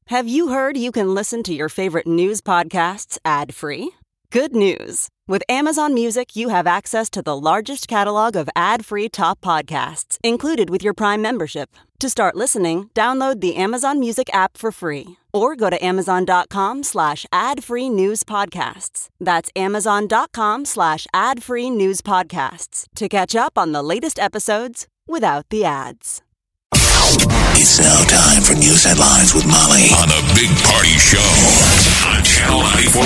Have you heard you can listen to your favorite news podcasts ad-free? Good news. With Amazon Music, you have access to the largest catalog of ad-free top podcasts included with your Prime membership. To start listening, download the Amazon Music app for free or go to amazon.com/ad-free news podcasts. That's amazon.com/ad-free news podcasts to catch up on the latest episodes without the ads. It's now time for news headlines with Molly on the Big Party Show on Channel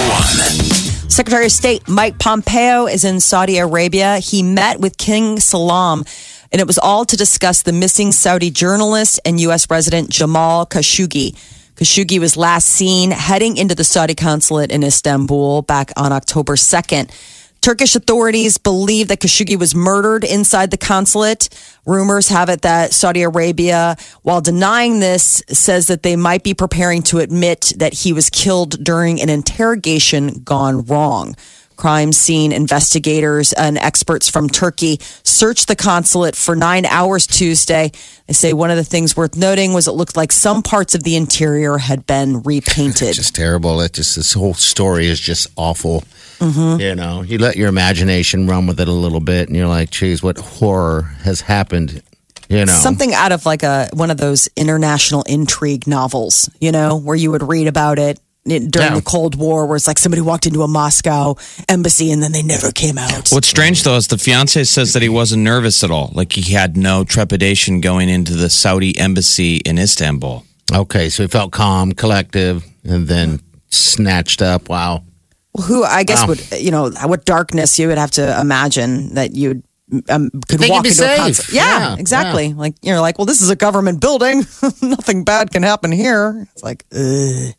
94.1. Secretary of State Mike Pompeo is in Saudi Arabia. He met with King Salman, and it was all to discuss the missing Saudi journalist and U.S. resident Jamal Khashoggi. Khashoggi was last seen heading into the Saudi consulate in Istanbul back on October 2nd. Turkish authorities believe that Khashoggi was murdered inside the consulate. Rumors have it that Saudi Arabia, while denying this, says that they might be preparing to admit that he was killed during an interrogation gone wrong. Crime scene investigators and experts from Turkey searched the consulate for 9 hours Tuesday. They say one of the things worth noting was it looked like some parts of the interior had been repainted. Just terrible. This whole story is just awful. Mm-hmm. You know, you let your imagination run with it a little bit, and you're like, geez, what horror has happened? You know, something out of like one of those international intrigue novels, you know, where you would read about it during the Cold War, where it's like somebody walked into a Moscow embassy and then they never came out. What's strange, though, is the fiance says that he wasn't nervous at all. Like he had no trepidation going into the Saudi embassy in Istanbul. Okay, so he felt calm, collective, and then snatched up. Wow. Who I guess would, you know, what darkness you would have to imagine that you'd could walk into a concert. Yeah, exactly. Yeah. Like you're like, well, this is a government building. Nothing bad can happen here. It's like, ugh.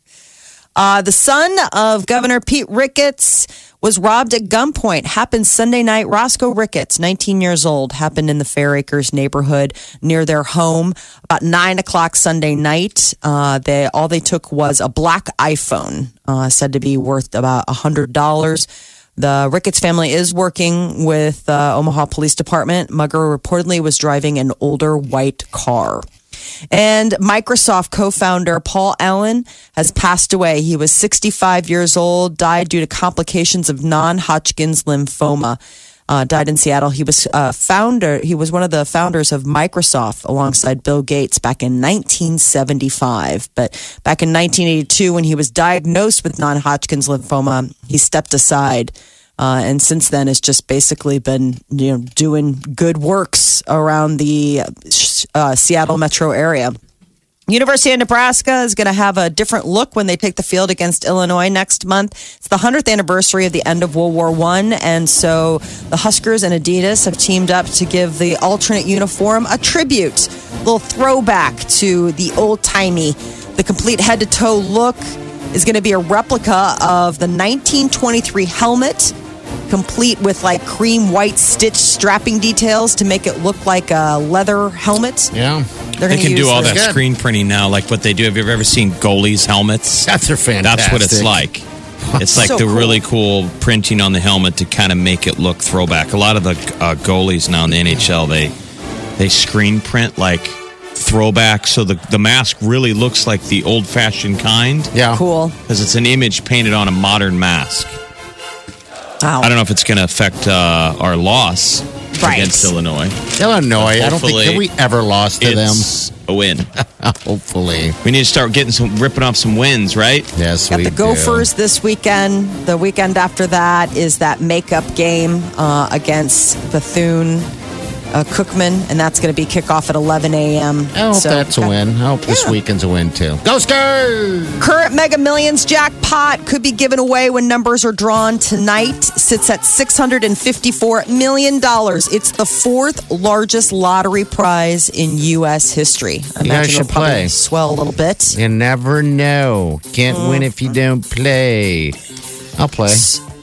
The son of Governor Pete Ricketts was robbed at gunpoint. Happened Sunday night. Roscoe Ricketts, 19 years old, happened in the Fair Acres neighborhood near their home about 9 o'clock Sunday night. All they took was a black iPhone, said to be worth about $100. The Ricketts family is working with Omaha Police Department. Mugger reportedly was driving an older white car. And Microsoft co-founder Paul Allen has passed away. He was 65 years old, died due to complications of non-Hodgkin's lymphoma. Died in Seattle. He was founder. He was one of the founders of Microsoft alongside Bill Gates back in 1975. But back in 1982, when he was diagnosed with non-Hodgkin's lymphoma, he stepped aside. And since then, has just basically been, you know, doing good works around the Seattle metro area. University of Nebraska is going to have a different look when they take the field against Illinois next month. It's the 100th anniversary of the end of World War I, and so the Huskers and Adidas have teamed up to give the alternate uniform a tribute, a little throwback to the old-timey. The complete head-to-toe look is going to be a replica of the 1923 helmet, complete with like cream white stitch strapping details to make it look like a leather helmet. Yeah. They can do all that screen printing now, like what they do. Have you ever seen goalies' helmets? That's fantastic. That's what it's like. It's like the really cool printing on the helmet to kind of make it look throwback. A lot of the goalies now in the NHL, they screen print like throwback, so the mask really looks like the old-fashioned kind. Yeah. Cool. Because it's an image painted on a modern mask. Wow. I don't know if it's going to affect our loss against Illinois. I don't think that we ever lost to them. It's a win. Hopefully. We need to start ripping off some wins, right? Yes, Got the Gophers this weekend. The weekend after that is that makeup game against Bethune-Cookman, and that's going to be kickoff at 11 a.m. I hope that's a win. I hope this weekend's a win, too. Go Skurs! Current Mega Millions jackpot could be given away when numbers are drawn tonight. Sits at $654 million. It's the fourth largest lottery prize in U.S. history. I imagine it'll probably swell a little bit. You never know. Can't win if you don't play. I'll play.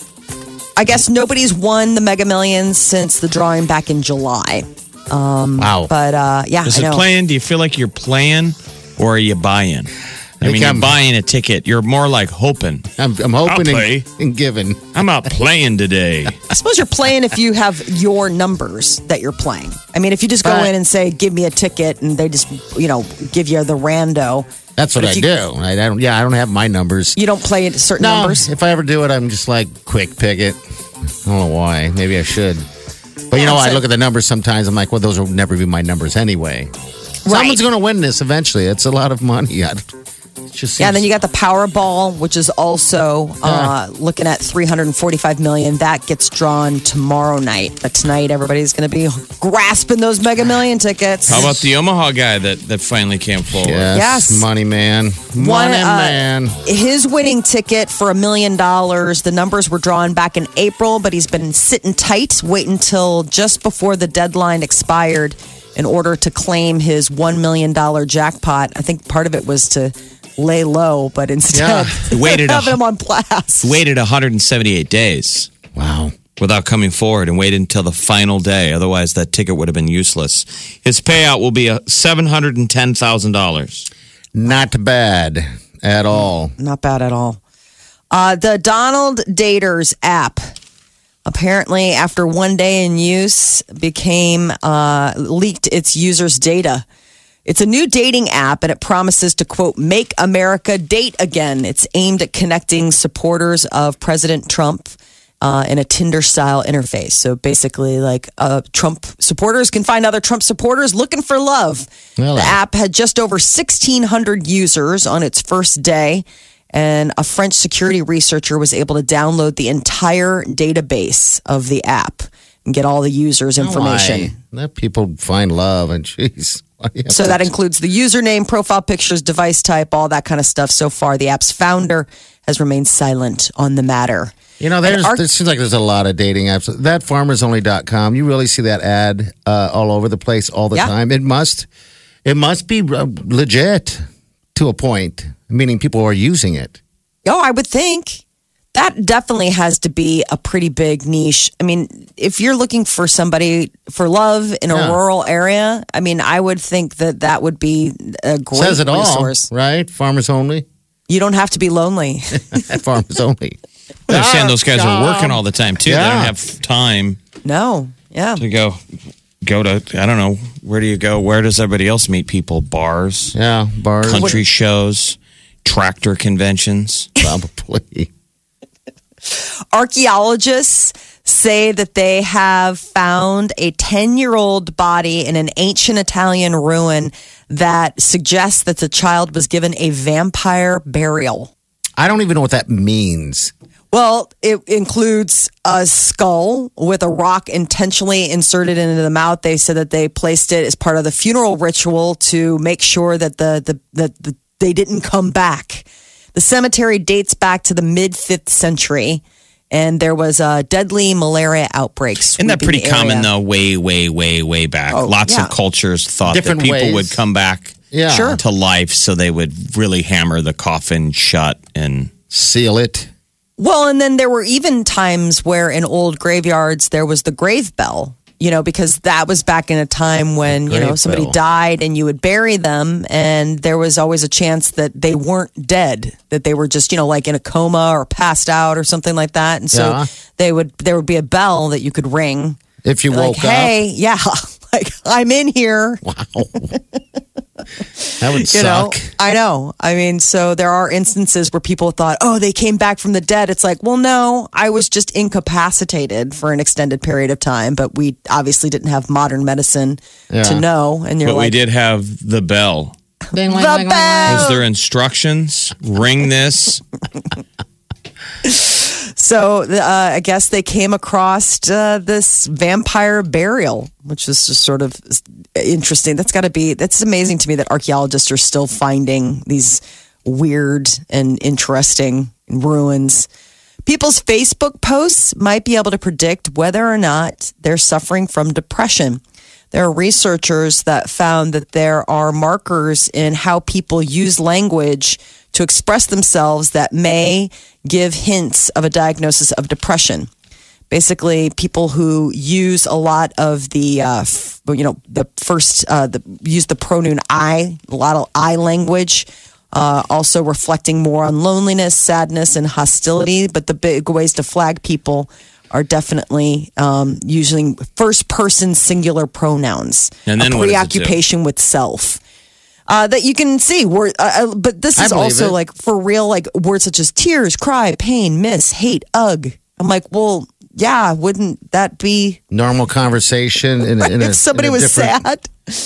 I guess nobody's won the Mega Millions since the drawing back in July. Wow. But, yeah, Is it playing? Do you feel like you're playing or are you buying? I mean, you're buying a ticket. You're more like hoping. I'm hoping and giving. I'm out playing today. I suppose you're playing if you have your numbers that you're playing. I mean, if you just go in and say, give me a ticket, and they just, give you the rando. That's what I do. I don't have my numbers. You don't play certain numbers? If I ever do it, I'm just like, quick pick it. I don't know why. Maybe I should. But I look at the numbers sometimes. I'm like, well, those will never be my numbers anyway. Someone's going to win this eventually. It's a lot of money. And then you got the Powerball, which is also looking at $345 million. That gets drawn tomorrow night. But tonight, everybody's going to be grasping those Mega Million tickets. How about the Omaha guy that finally came forward? Yes. Money man. Man. His winning ticket for $1 million, the numbers were drawn back in April, but he's been sitting tight, waiting until just before the deadline expired in order to claim his $1 million jackpot. I think part of it was to lay low, but instead having him on blast. Waited 178 days. Wow. Without coming forward and waited until the final day. Otherwise, that ticket would have been useless. His payout will be $710,000. Not bad at all. Not bad at all. The Donald Daters app, apparently after one day in use, leaked its users' data. It's a new dating app, and it promises to, quote, make America date again. It's aimed at connecting supporters of President Trump in a Tinder-style interface. So basically, like Trump supporters can find other Trump supporters looking for love. Really? The app had just over 1,600 users on its first day, and a French security researcher was able to download the entire database of the app and get all the users' information. Let people find love, and jeez. So that includes the username, profile pictures, device type, all that kind of stuff. So far, the app's founder has remained silent on the matter. There seems like there's a lot of dating apps. That farmersonly.com, you really see that ad all over the place all the time. It must be legit to a point, meaning people are using it. Oh, I would think. That definitely has to be a pretty big niche. I mean, if you're looking for somebody for love in a rural area, I mean, I would think that would be a great Says it resource. All, right? Farmers only. You don't have to be lonely. Farmers only. I understand those guys are working all the time, too. Yeah. They don't have time. No. Yeah. To go to, I don't know, where do you go? Where does everybody else meet people? Bars? Yeah, bars. Country shows? Tractor conventions? Probably. Archaeologists say that they have found a 10-year-old body in an ancient Italian ruin that suggests that the child was given a vampire burial. I don't even know what that means. Well, it includes a skull with a rock intentionally inserted into the mouth. They said that they placed it as part of the funeral ritual to make sure that they didn't come back. The cemetery dates back to the mid-5th century, and there was a deadly malaria outbreak. Isn't that pretty common, though, way, way, way, way back? Lots of cultures thought different that people ways would come back to life, so they would really hammer the coffin shut and seal it. Well, and then there were even times where in old graveyards, there was the grave bell. Because that was back in a time when, somebody died and you would bury them, and there was always a chance that they weren't dead, that they were just, like in a coma or passed out or something like that. And so there would be a bell that you could ring. If you woke up. Hey, like I'm in here. Wow. That would suck. I know. I mean, so there are instances where people thought, they came back from the dead. It's like, well, no, I was just incapacitated for an extended period of time, but we obviously didn't have modern medicine to know. And you're we did have the bell. The bell. Was there instructions? Ring this. So I guess they came across this vampire burial, which is just sort of interesting. That's amazing to me that archaeologists are still finding these weird and interesting ruins. People's Facebook posts might be able to predict whether or not they're suffering from depression. There are researchers that found that there are markers in how people use language to express themselves that may give hints of a diagnosis of depression. Basically, people who use a lot of the, use the pronoun I, a lot of I language, also reflecting more on loneliness, sadness, and hostility. But the big ways to flag people are definitely using first-person singular pronouns. And then a preoccupation with self. that you can see. But this is also like for real, like words such as tears, cry, pain, miss, hate, ugh. I'm like, well, yeah, wouldn't that be normal conversation? If somebody was sad.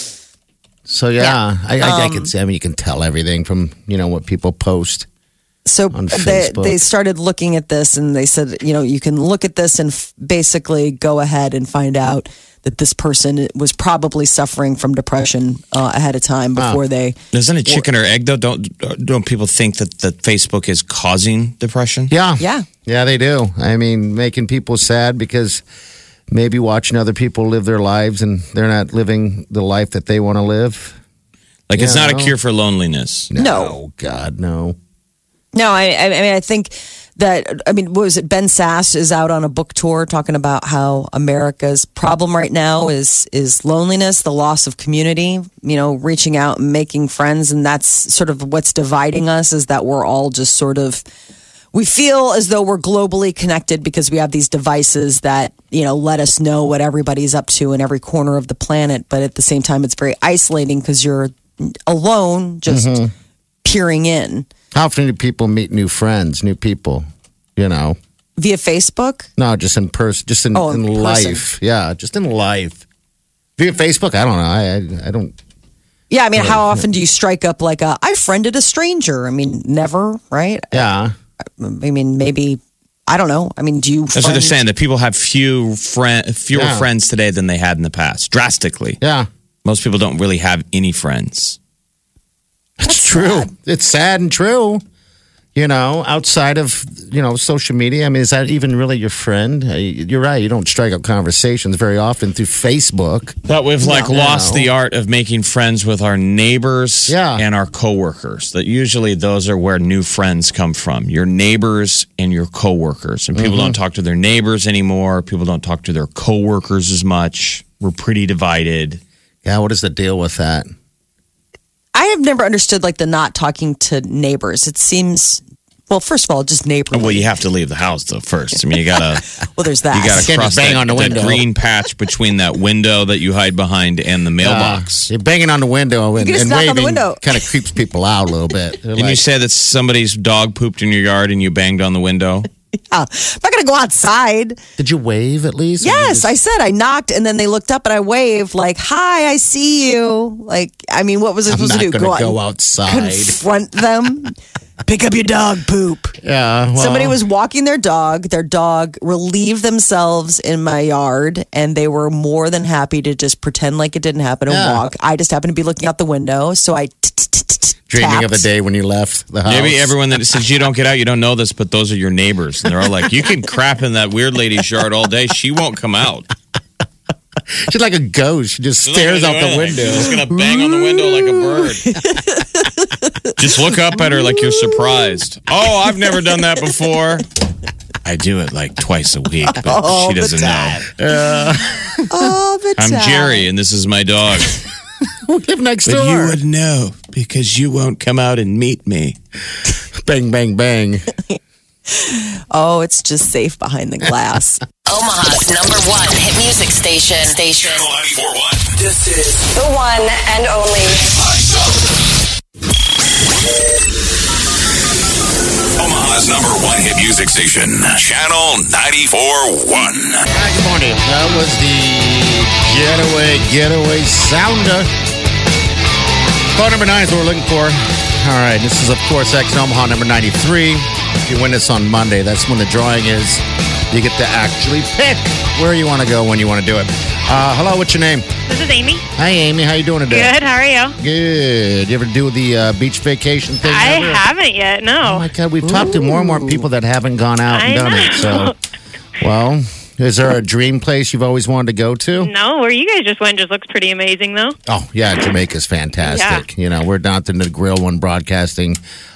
So yeah. I can see. I mean, you can tell everything from what people post. So they started looking at this, and they said, you can look at this and basically go ahead and find out that this person was probably suffering from depression ahead of time before they. Isn't it chicken or egg though? Don't people think that Facebook is causing depression? Yeah, they do. I mean, making people sad because maybe watching other people live their lives and they're not living the life that they want to live. Like it's not a cure for loneliness. No, God, no. No, I mean, I think that, what was it? Ben Sass is out on a book tour talking about how America's problem right now is loneliness, the loss of community, reaching out and making friends. And that's sort of what's dividing us, is that we're all just sort of, we feel as though we're globally connected because we have these devices that, let us know what everybody's up to in every corner of the planet. But at the same time, it's very isolating because you're alone, just peering in. How often do people meet new friends, new people, Via Facebook? No, just in person, just in life. Yeah, just in life. Via Facebook? I don't know. I don't. Yeah, how often do you strike up like I friended a stranger? Never, right? Yeah. Maybe, I don't know. Do you? That's what they're saying, that people have fewer friends today than they had in the past, drastically. Yeah. Most people don't really have any friends. It's true. Sad. It's sad and true. Outside of, social media. Is that even really your friend? You're right. You don't strike up conversations very often through Facebook. But we've lost the art of making friends with our neighbors and our coworkers. That usually those are where new friends come from. Your neighbors and your coworkers. And people don't talk to their neighbors anymore. People don't talk to their coworkers as much. We're pretty divided. Yeah, what is the deal with that? I have never understood the not talking to neighbors. It seems, well, first of all, just neighborly. Well, you have to leave the house though first. You gotta. Well, there's that. You gotta cross that green patch between that window that you hide behind and the mailbox. You're banging on the window and waving. On the window. Kind of creeps people out a little bit. Didn't you say that somebody's dog pooped in your yard and you banged on the window? Yeah, I'm not going to go outside. Did you wave at least? Yes, I said I knocked, and then they looked up, and I waved like, "Hi, I see you." What was I supposed to do? Go outside, confront them, pick up your dog poop. Yeah, well. Somebody was walking their dog. Their dog relieved themselves in my yard, and they were more than happy to just pretend like it didn't happen and walk. I just happened to be looking out the window, so I dreaming of the day when you left the house. Maybe everyone that says you don't get out, you don't know this, but those are your neighbors. And they're all like, you can crap in that weird lady's yard all day. She won't come out. She's like a ghost. She just stares out the window. She's just going to bang on the window like a bird. Just look up at her like you're surprised. Oh, I've never done that before. I do it twice a week, but she doesn't know. All the time. I'm Jerry, and this is my dog. We live next door. But you would know because you won't come out and meet me. Bang, bang, bang. Oh, it's just safe behind the glass. Omaha's #1 hit music station. Channel 94.1. This is the one and only. Omaha's #1 hit music station. Channel 94.1. Good morning. That was the getaway sounder. Phone number 9 is what we're looking for. All right. This is, of course, X Omaha number 93. If you win this on Monday, that's when the drawing is. You get to actually pick where you want to go when you want to do it. Hello, what's your name? This is Amy. Hi, Amy. How you doing today? Good. How are you? Good. You ever do the beach vacation thing? I haven't yet, no. Oh, my God. We've talked to more and more people that haven't gone out and done it. So, well, is there a dream place you've always wanted to go to? No, where you guys just went just looks pretty amazing, though. Oh, yeah. Jamaica's fantastic. Yeah. We're down at the Grill One Broadcasting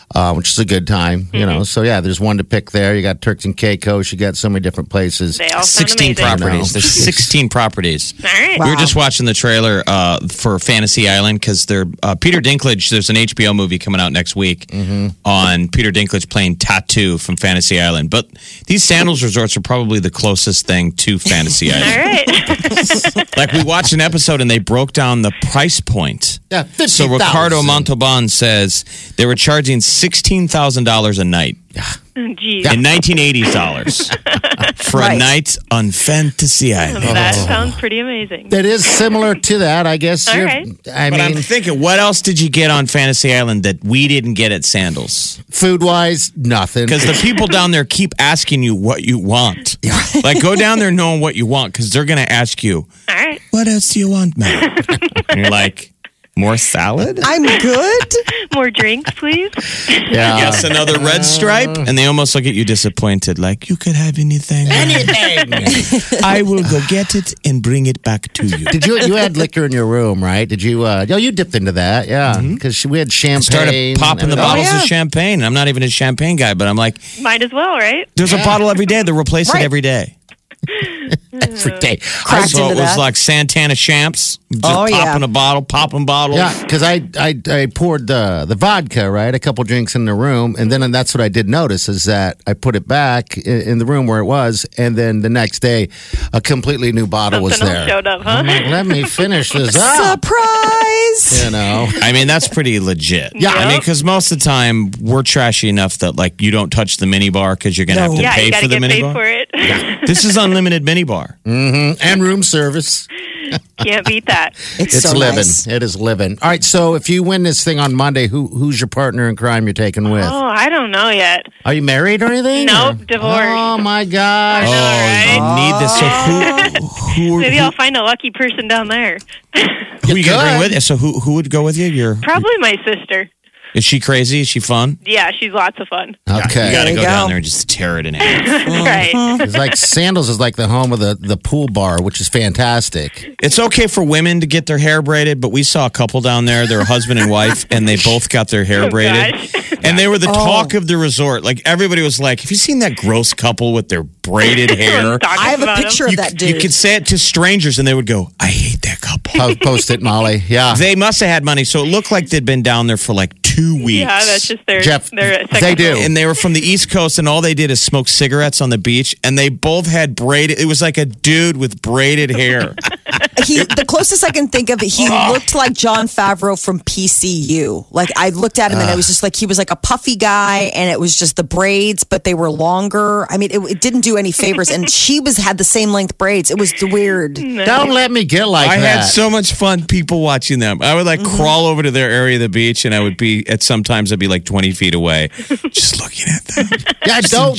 which is a good time, you know. So, yeah, there's one to pick there. You got Turks and Caicos. You got so many different places. They all sound 16 amazing. properties. There's 16 properties. All right. We were just watching the trailer for Fantasy Island because Peter Dinklage, there's an HBO movie coming out next week on Peter Dinklage playing Tattoo from Fantasy Island. But these sandals resorts are probably the closest thing to Fantasy Island. All right. Like we watched an episode and they broke down the price point. Yeah, So Ricardo Montalban says they were charging $16,000 a night Jeez. in 1980s dollars for a night on Fantasy Island. That sounds pretty amazing. That is similar to that, I guess. All right. I But I'm mean, thinking, what else did you get on Fantasy Island that we didn't get at Sandals? food-wise, nothing. Because the people down there keep asking you what you want. Like, go down there knowing what you want because they're going to ask you, All right. what else do you want, man? And you're like, more salad? I'm good. More drinks, please. Yeah. Yes, another red stripe? And they almost look at you disappointed, like, you could have anything. Anything. I will go get it and bring it back to you. Did you had liquor in your room, right? Did you? You dipped into that, yeah. Because we had champagne. Started popping the bottles of champagne. I'm not even a champagne guy, but I'm like, Might as well, right? there's a bottle every day. They're replacing Right. every day. every day. Cracked So into it was that. like Santana Champs, just Oh, yeah. popping a bottle, popping bottles. Yeah, because I poured the vodka, right? A couple drinks in the room, and then that's what I did notice is that I put it back in the room where it was, and then the next day, a completely new bottle was Something there. else showed up, huh? I'm like, let me finish this up. Surprise! You know, I mean, that's pretty legit. Yeah. I mean, because most of the time we're trashy enough that like you don't touch the mini bar because you're going to have to Yeah, pay you got for to the get mini paid bar. for it. This is unlimited mini bar. and room service. Can't beat that. It's It's so living. nice. It is living. All right. So if you win this thing on Monday, who's your partner in crime you're taking with? Oh, I don't know yet. Are you married or anything? Nope, or? divorced. Oh my gosh. I know, Oh, right? you need this. So who Maybe I'll find a lucky person down there. who are you going to could. bring with you? So who would go with you? Probably my sister. Is she crazy? Is she fun? Yeah, she's lots of fun. Okay. You got to you go go. down there and just tear it in half. Right. It's like Sandals is like the home of the pool bar, which is fantastic. It's okay for women to get their hair braided, but we saw a couple down there. They're a husband and wife, and they both got their hair Oh, braided. gosh. And they were the talk of the resort. Like everybody was like, "Have you seen that gross couple with their braided hair?" Talking I have a about picture him. of that dude. You could say it to strangers, and they would go, "I hate that couple." Post it, Molly. Yeah. They must have had money, so it looked like they'd been down there for like 2 weeks. Yeah, that's just their Jeff, their second they do. home. And they were from the East Coast, and all they did is smoke cigarettes on the beach. And they both had braided. It was like a dude with braided hair. The closest I can think of it, he looked like John Favreau from PCU. Like I looked at him and it was just like he was like a puffy guy, and it was just the braids, but they were longer. I mean, it didn't do any favors. And she had the same length braids. It was weird. Don't let me get like I that. had so much fun people watching them. I would like crawl over to their area of the beach, and I would be sometimes I'd be like 20 feet away, just looking at them, yeah, just don't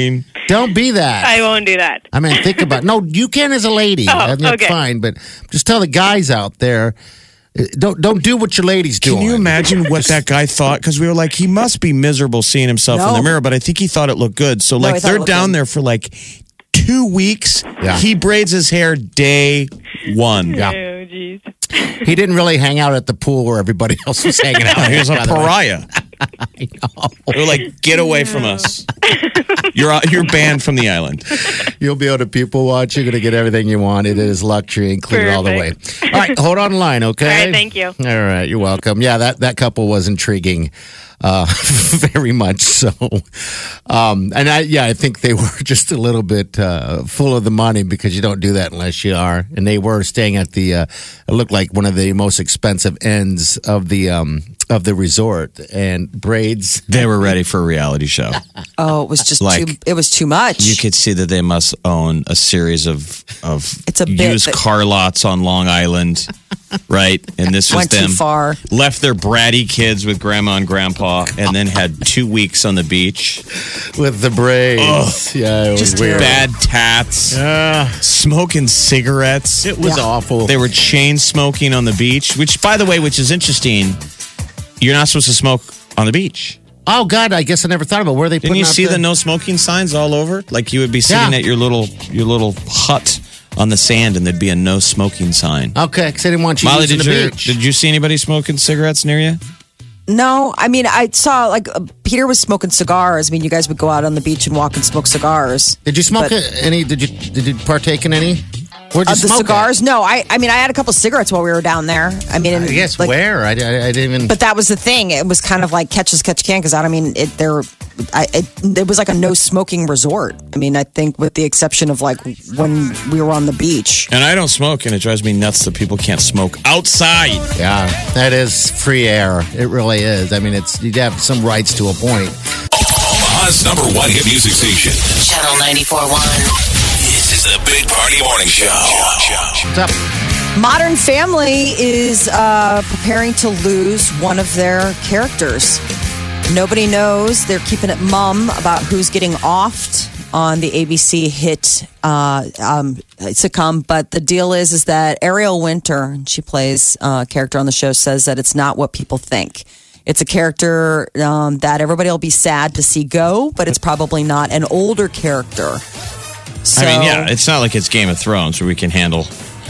be that. I won't do that. I mean, think about no. You can as a lady. Oh, I mean, okay. fine, but just tell the guys out there, don't do what your ladies doing. Can you imagine what that guy thought? Because we were like, he must be miserable seeing himself in No. the mirror, but I think he thought it looked good. So, I like, thought it they're looked down good. there for like 2 weeks. Yeah. He braids his hair day one. Yeah. Oh, jeez. He didn't really hang out at the pool where everybody else was hanging out. He was a by the way. pariah. I know. They're like, get away from us. You're banned from the island. You'll be able to people watch. You're going to get everything you want. It is luxury included all the way. All right, hold on the line, okay? All right, thank you. All right, you're welcome. Yeah, that couple was intriguing, very much so. And I think they were just a little bit full of the money because you don't do that unless you are. And they were staying at it looked like one of the most expensive ends of the resort, and braids. They were ready for a reality show. Oh, it was just Like, it was too much. You could see that they must own a series of It's a bit used that- car lots on Long Island, right? And this was Went too them far. left their bratty kids with grandma and grandpa, and then had 2 weeks on the beach. With the braids. Yeah, it was Just weird. Bad tats, smoking cigarettes. It was awful. They were chain smoking on the beach, which, by the way, which is interesting. You're not supposed to smoke on the beach. Oh, God, I guess I never thought about where they Didn't putting you out see the no smoking signs all over? Like you would be sitting Yeah. at your little hut on the sand, and there'd be a no smoking sign. Okay, because I didn't want you Molly, using did the you beach. did you see anybody smoking cigarettes near you? No, I mean, I saw like Peter was smoking cigars. I mean, you guys would go out on the beach and walk and smoke cigars. Did you smoke any? Did you partake in any? Where'd you smoke cigars? at? No, I mean, I had a couple cigarettes while we were down there. I mean, I guess like, where? I didn't even. But that was the thing. It was kind of like catch as catch can because it was like a no smoking resort. I mean, I think with the exception of like when we were on the beach. And I don't smoke, and it drives me nuts that people can't smoke outside. Yeah, that is free air. It really is. I mean, you have some rights to a point. Omaha's #1 hit music station. Channel 94.1. This is the Big Party Morning Show. What's up? Modern Family is preparing to lose one of their characters. Nobody knows. They're keeping it mum about who's getting offed on the ABC hit sitcom. But the deal is that Ariel Winter, she plays a character on the show, says that it's not what people think. It's a character that everybody will be sad to see go, but it's probably not an older character. So, I mean, yeah, it's not like it's Game of Thrones where we can handle,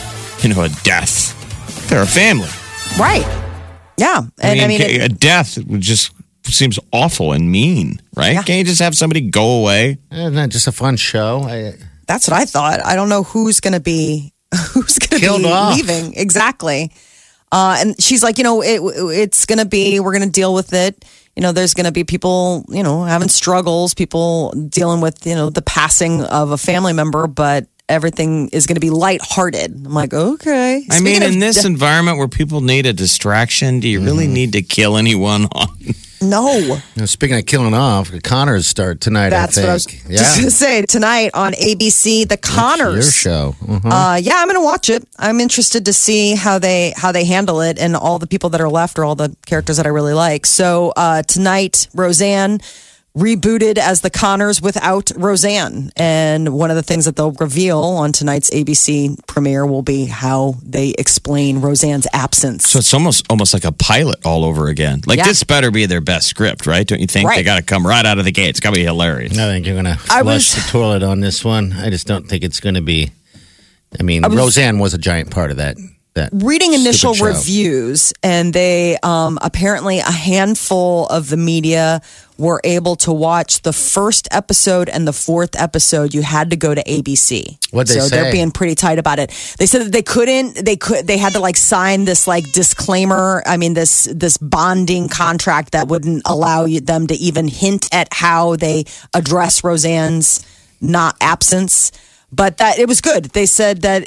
a death. They're a family. Right. Yeah. And I mean a death just seems awful and mean, right? Yeah. Can't you just have somebody go away? Isn't that just a fun show? That's what I thought. I don't know who's going to be killed off. Leaving. Exactly. And she's like, it's going to be, we're going to deal with it. There's going to be people, having struggles, people dealing with, the passing of a family member, but everything is going to be lighthearted. I'm like, okay. I mean, in this environment where people need a distraction, do you really need to kill anyone on? No. Speaking of killing off, the Connors start tonight, That's I think. What I was just going to say. Tonight on ABC, the Connors. That's your show. Yeah, I'm going to watch it. I'm interested to see how they handle it, and all the people that are left are all the characters that I really like. So tonight, Roseanne rebooted as the Connors without Roseanne. And one of the things that they'll reveal on tonight's ABC premiere will be how they explain Roseanne's absence. So it's almost like a pilot all over again. Like, this better be their best script, right? Don't you think? Right. They got to come right out of the gate. It's got to be hilarious. I think you're going to flush the toilet on this one. I just don't think it's going to be. I mean, Roseanne was a giant part of that. Reading initial reviews, and they apparently a handful of the media were able to watch the first episode and the fourth episode. You had to go to ABC. What'd they say? So they're being pretty tight about it. They said that they couldn't. They had to like sign this like disclaimer. I mean, this bonding contract that wouldn't allow them to even hint at how they address Roseanne's not absence. But that it was good. They said that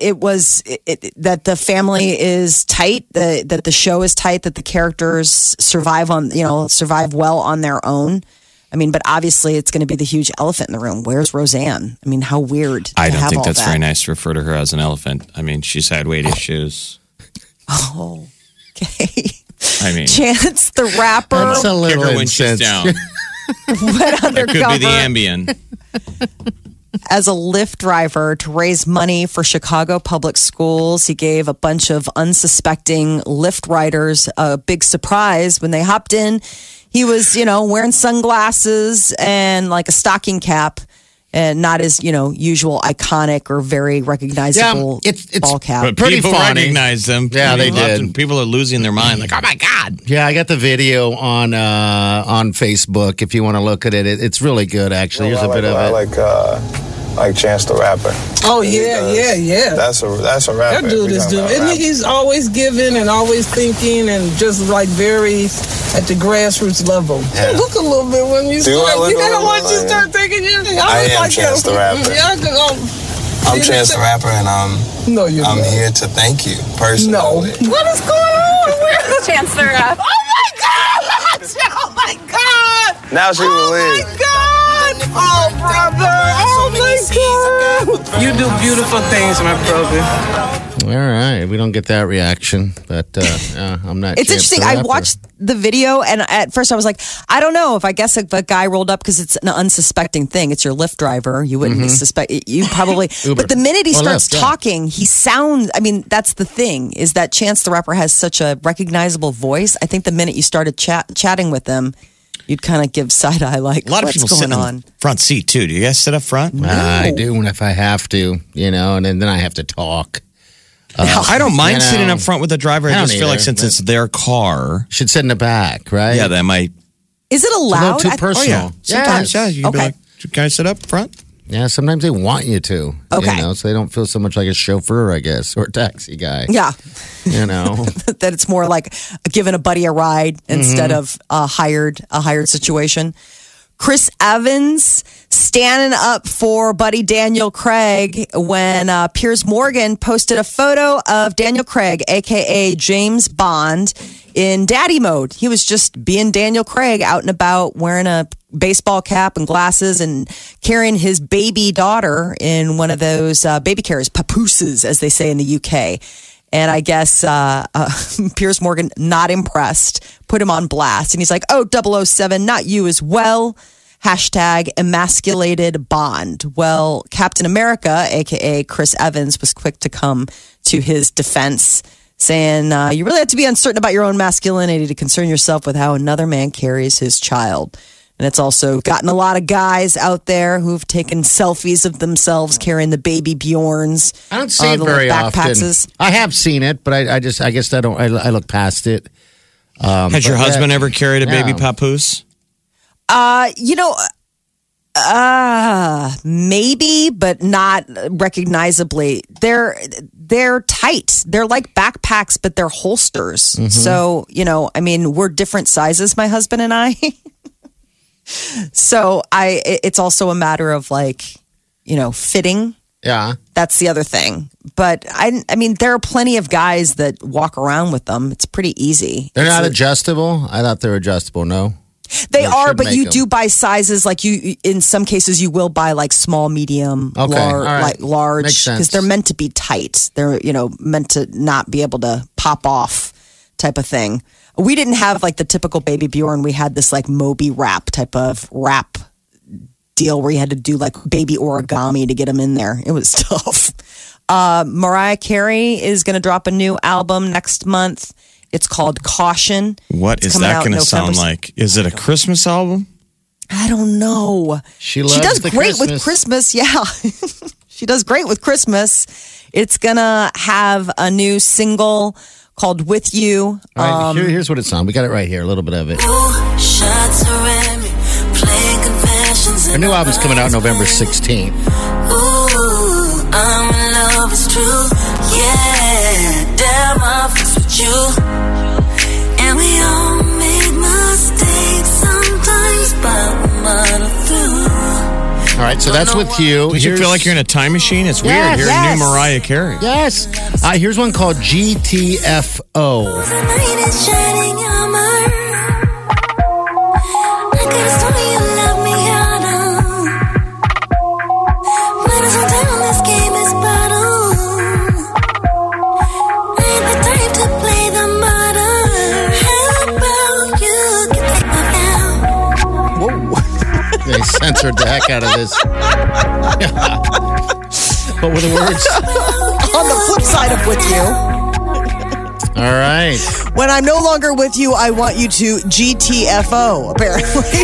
that the family is tight, that the show is tight, that the characters survive well on their own. I mean, but obviously it's going to be the huge elephant in the room. Where's Roseanne? I mean, how weird. I don't think that's very nice to refer to her as an elephant. I mean, she's had weight issues. Oh, okay. I mean, Chance the Rapper. That's a little kick her when she's down. Went undercover. That could be the Ambien. As a Lyft driver to raise money for Chicago public schools. He gave a bunch of unsuspecting Lyft riders a big surprise when they hopped in. He was, wearing sunglasses and like a stocking cap and not his, usual iconic or very recognizable ball cap. But Pretty people funny. recognized them. Yeah, they did. People are losing their mind. Like, oh my God. Yeah, I got the video on Facebook. If you want to look at it, it's really good. Actually, here's a bit of it. I like Chance the Rapper. Oh yeah. That's a rapper. That dude is doing. Isn't he's always giving and always thinking and just like very at the grassroots level. Yeah. You look a little bit when you start. You gotta watch you start thinking. I am Chance the Rapper. I'm Chance the Rapper, and I'm here to thank you personally. No. What is going on? Where's Chance the Rapper? Oh my God! Oh my God! Now she will leave. Oh my God! Oh brother! Oh my God! You do beautiful things, my brother. All right, we don't get that reaction, but I'm not. It's interesting. I watched the video, and at first I was like, I don't know if if a guy rolled up because it's an unsuspecting thing. It's your Lyft driver. You wouldn't suspect. You probably. But the minute he starts talking, he sounds. I mean, that's the thing is that Chance the Rapper has such a recognizable voice. I think the minute you started chatting with him, you'd kind of give side eye like, a lot of people sit on front seat too. Do you guys sit up front? I do if I have to, and then I have to talk. I don't mind sitting up front with the driver. I just feel like since it's their car, should sit in the back, right? Yeah, that might. Is it allowed? It's a little too personal. Sometimes, you can be like, can I sit up front? Yeah, sometimes they want you to. Okay. So they don't feel so much like a chauffeur, I guess, or a taxi guy. Yeah. That it's more like giving a buddy a ride instead of a hired situation. Chris Evans standing up for buddy Daniel Craig when Piers Morgan posted a photo of Daniel Craig, a.k.a. James Bond, in daddy mode. He was just being Daniel Craig out and about wearing a baseball cap and glasses and carrying his baby daughter in one of those baby carriers, papooses, as they say in the UK. And I guess Piers Morgan, not impressed, put him on blast. And he's like, oh, 007, not you as well. Hashtag emasculated Bond. Well, Captain America, a.k.a. Chris Evans, was quick to come to his defense, saying, you really have to be uncertain about your own masculinity to concern yourself with how another man carries his child. And it's also gotten a lot of guys out there who've taken selfies of themselves carrying the baby Bjorns. I don't see it very often. I have seen it, but I guess I don't. I look past it. Has your husband ever carried a baby papoose? Maybe, but not recognizably. They're tight. They're like backpacks, but they're holsters. Mm-hmm. So, we're different sizes, my husband and I. So it's also a matter of fitting. Yeah. That's the other thing. But I mean, there are plenty of guys that walk around with them. It's pretty easy. They're not adjustable? I thought they were adjustable. No. They are, but you do buy sizes. In some cases, you will buy small, medium, large, because they're meant to be tight. They're, meant to not be able to pop off type of thing. We didn't have the typical baby Bjorn. We had this Moby wrap type of wrap deal where you had to do baby origami to get them in there. It was tough. Mariah Carey is going to drop a new album next month. It's called Caution. What is that going to sound like? Is it a Christmas album? I don't know. She does great with Christmas. Yeah. She does great with Christmas. It's going to have a new single called With You. All right, here's what it sounds. We got it right here, a little bit of it. Her new album's coming out November 16th. Ooh, I'm in love, it's true. Yeah, damn, I'm with you. And we all make mistakes sometimes, but we muddle through. All right, so that's With You. Does you feel like you're in a time machine? It's weird hearing new Mariah Carey. Yes. Here's one called GTFO. The night is shining armor. I could have sworn you love me harder. When it's all down, this game is battle. I ain't the type to play the martyr. How about you get that down? Whoa. They censored the heck out of this. What were the words? On the flip side of With You. All right. When I'm no longer with you, I want you to GTFO, apparently.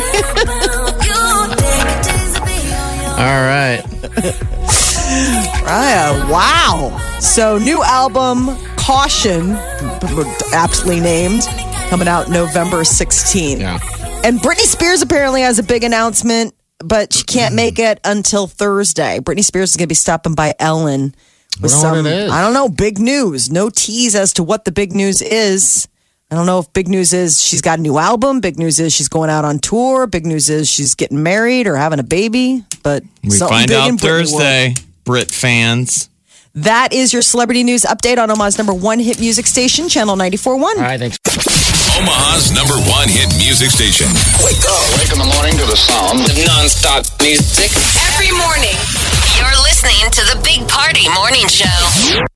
All right. Wow. So, new album, Caution, aptly named, coming out November 16th. Yeah. And Britney Spears apparently has a big announcement, but she can't make it until Thursday. Britney Spears is going to be stopping by Ellen with some, I don't know, big news. No tease as to what the big news is. I don't know if big news is she's got a new album. Big news is she's going out on tour. Big news is she's getting married or having a baby. But we find out Thursday, Brit fans. That is your celebrity news update on Omaha's #1 hit music station, Channel 94.1. All right, thanks. Omaha's #1 hit music station. Wake up. Wake in the morning to the sound of nonstop music. Every morning, you're listening to the Big Party Morning Show.